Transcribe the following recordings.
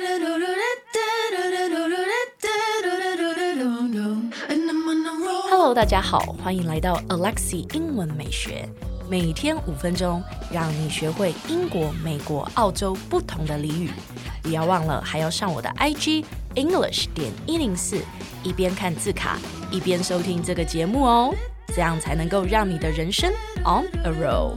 Hello， 大家好，歡迎來到 Alexi 英文美學，每天5分鐘，讓你學會英國、美國、澳洲不同的俚語。不要忘了，還要上我的 IG English.104，一邊看字卡，一邊收聽這個節目哦，這樣才能夠讓你的人生 on a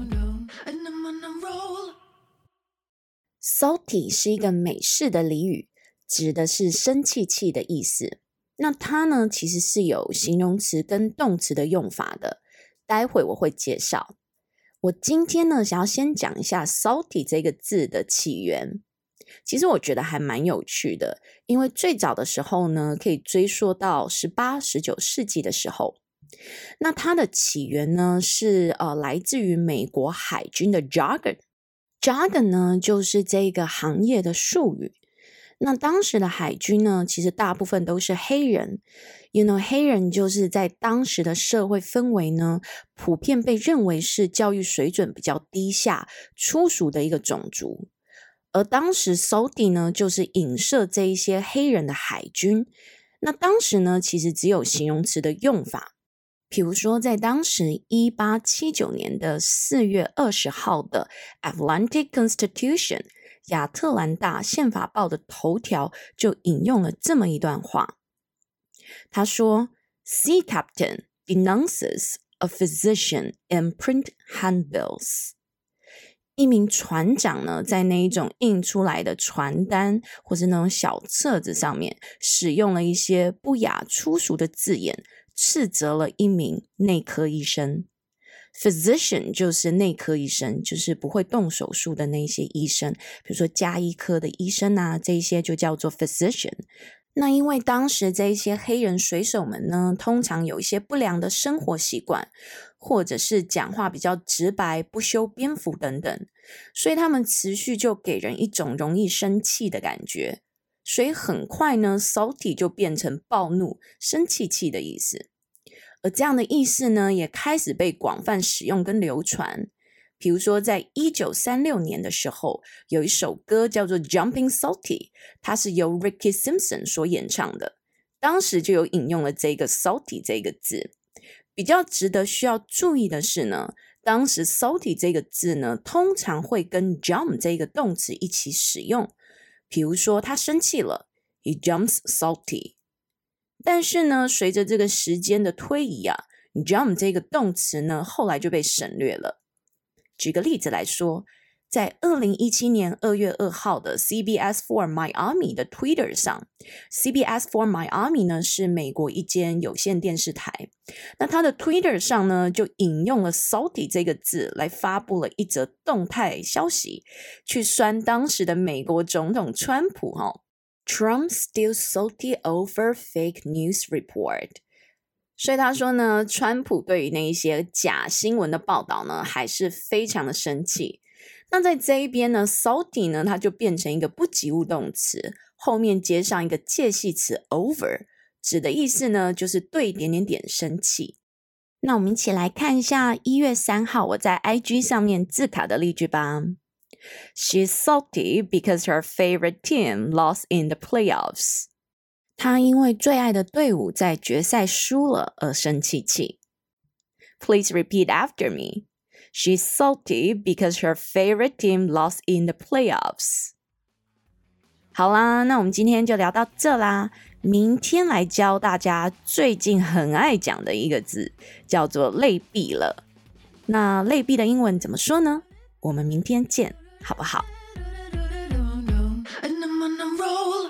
roll。Salty 是一個美式的俚語，指的是生氣氣的意思。那它呢，其實是有形容詞跟動詞的用法的，待會我會介紹。我今天呢，想要先講一下 salty 這個字的起源。其實我覺得還蠻有趣的，因為最早的時候呢，可以追溯到18、19世紀的時候。那它的起源呢，是來自於美國海軍的 jargon。jargon 呢，就是這個行業的術語。那當時的海軍呢，其實大部分都是黑人。黑人就是在當時的社會氛圍呢，普遍被認為是教育水準比較低下、粗俗的一個種族。而當時 salty 呢，就是影射這一些黑人的海軍。那當時呢，其實只有形容詞的用法。比如說，在當時1879年的4月20號的 Atlantic Constitution 亞特蘭大憲法報的頭條就引用了這麼一段話。他說 Sea captain denounces a physician in print handbills。一名船長呢，在那一種印出來的傳單或是那種小冊子上面，使用了一些不雅粗俗的字眼，斥責了一名內科醫生。Physician 就是內科醫生，就是不會動手術的那些醫生，比如說家醫科的醫生啊，這一些就叫做 physician。那因為當時這一些黑人水手們呢，通常有一些不良的生活習慣，或者是講話比較直白、不修邊幅等等，所以他們持續就給人一種容易生氣的感覺。所以很快呢 salty 就變成暴怒、生氣氣的意思。而這樣的意思呢，也開始被廣泛使用跟流傳。比如說，在1936年的時候，有一首歌叫做 Jumping Salty， 它是由 Ricky Simpson 所演唱的。當時就有引用了這個 salty 這個字。比較值得需要注意的是呢，當時 salty 這個字呢，通常會跟 jump 這個動詞一起使用。比如說，他生氣了 ，He jumps salty。但是呢，隨着這個時間的推移啊 ，jump 這個動詞呢，後來就被省略了。舉個例子來說，在2017年2月2號的 CBS4 Miami 的 Twitter 上 ，CBS4 Miami 呢是美國一間有線電視台，那它的 Twitter 上呢就引用了 salty 這個字來發布了一則動態消息，去酸當時的美國總統川普Trump still salty over fake news report。所以他說呢，川普對於那一些假新聞的報道呢，還是非常的生氣。那在這一邊呢 ，salty 呢，它就變成一個不及物動詞，後面接上一個介系詞 over， 指的意思呢，就是對點點點生氣。那我們一起來看一下1月3號我在 IG 上面字卡的例句吧。She's salty because her favorite team lost in the playoffs. 她因為最愛的隊伍在決賽輸了而生氣氣。Please repeat after me. She's salty because her favorite team lost in the playoffs. 好啦，那我們今天就聊到這啦。明天來教大家最近很愛講的一個字，叫做類比了。那類比的英文怎麼說呢？我們明天見。好不好？